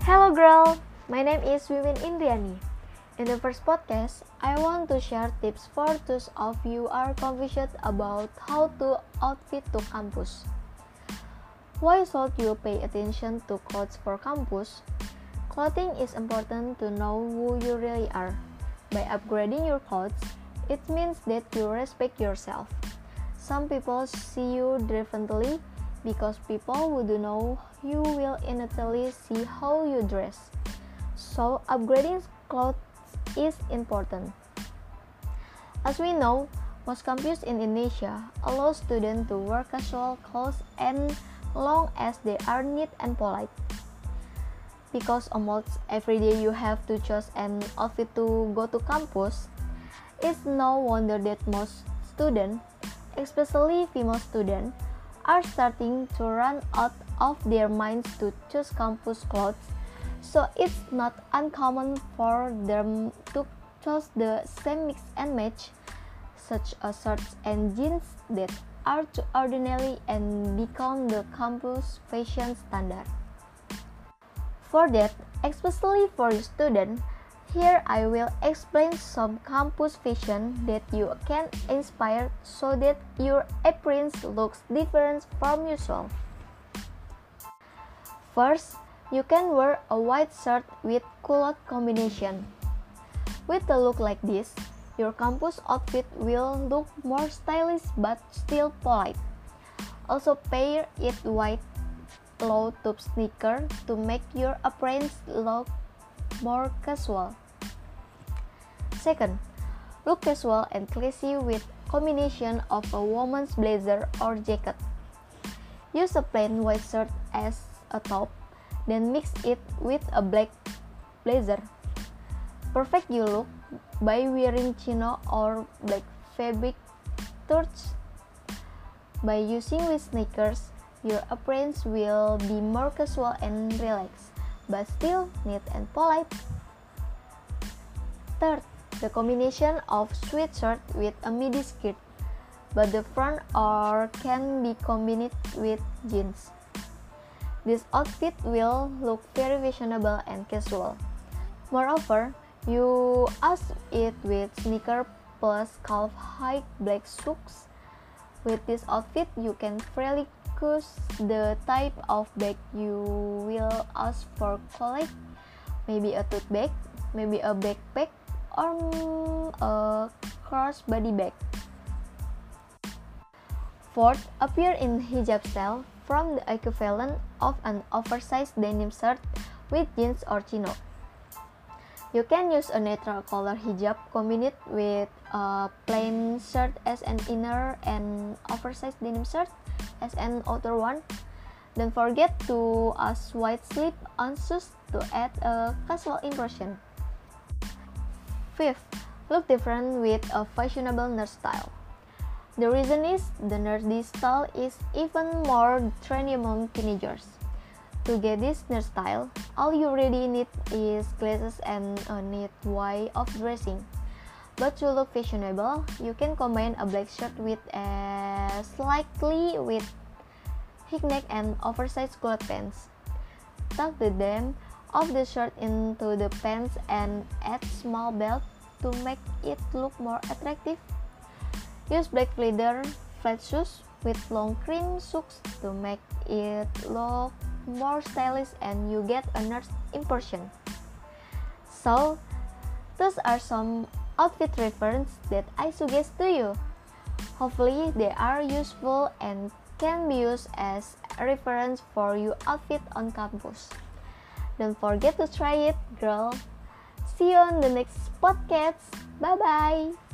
Hello girl, my name is Wiwin Indriani. In the first podcast, I want to share tips for those of you are confused about how to outfit to campus. Why should you pay attention to clothes for campus? Clothing is important to know who you really are. By upgrading your clothes, it means that you respect yourself. Some people see you differently because people who do know you will innately see how you dress. So upgrading clothes is important. As we know, most campuses in Indonesia allow students to wear casual clothes as long as they are neat and polite. Because almost every day you have to choose an outfit to go to campus, it's no wonder that most students, especially female students, are starting to run out of their minds to choose campus clothes, so it's not uncommon for them to choose the same mix and match, such as shirts and jeans that are too ordinary and become the campus fashion standard. For that, especially for students, here I will explain some campus fashion that you can inspire so that your appearance looks different from usual. First, you can wear a white shirt with culotte combination. With a look like this, your campus outfit will look more stylish but still polite. Also pair it white low-top sneaker to make your appearance look more casual. Second, look casual and classy with combination of a woman's blazer or jacket. Use a plain white shirt as a top, then mix it with a black blazer. Perfect you look by wearing chino or black fabric shorts. By using with sneakers, your appearance will be more casual and relaxed, but still neat and polite. Third, the combination of sweatshirt with a midi skirt, but the front or can be combined with jeans. This outfit will look very fashionable and casual. Moreover, you ask it with sneaker plus calf-high black socks. With this outfit, you can freely choose the type of bag you will ask for college, maybe a tote bag, maybe a backpack, or a crossbody bag. Fourth, appear in hijab style from the equivalent of an oversized denim shirt with jeans or chino. You can use a neutral color hijab combined with a plain shirt as an inner and oversized denim shirt as an outer one. Don't forget to add white slip-on shoes to add a casual impression. Fifth, look different with a fashionable nerd style. The reason is the nerdy style is even more trendy among teenagers. To get this nerd style, all you really need is glasses and a neat way of dressing. But to look fashionable, you can combine a black shirt with a slightly with high neck and oversized culotte pants. Tuck the hem of the shirt into the pants and add small belt to make it look more attractive. Use black leather flat shoes with long cream socks to make it look more stylish and you get a nerd impression. So, those are some outfit references that I suggest to you. Hopefully, they are useful and can be used as a reference for your outfit on campus. Don't forget to try it, girl. See you on the next podcast. Bye bye.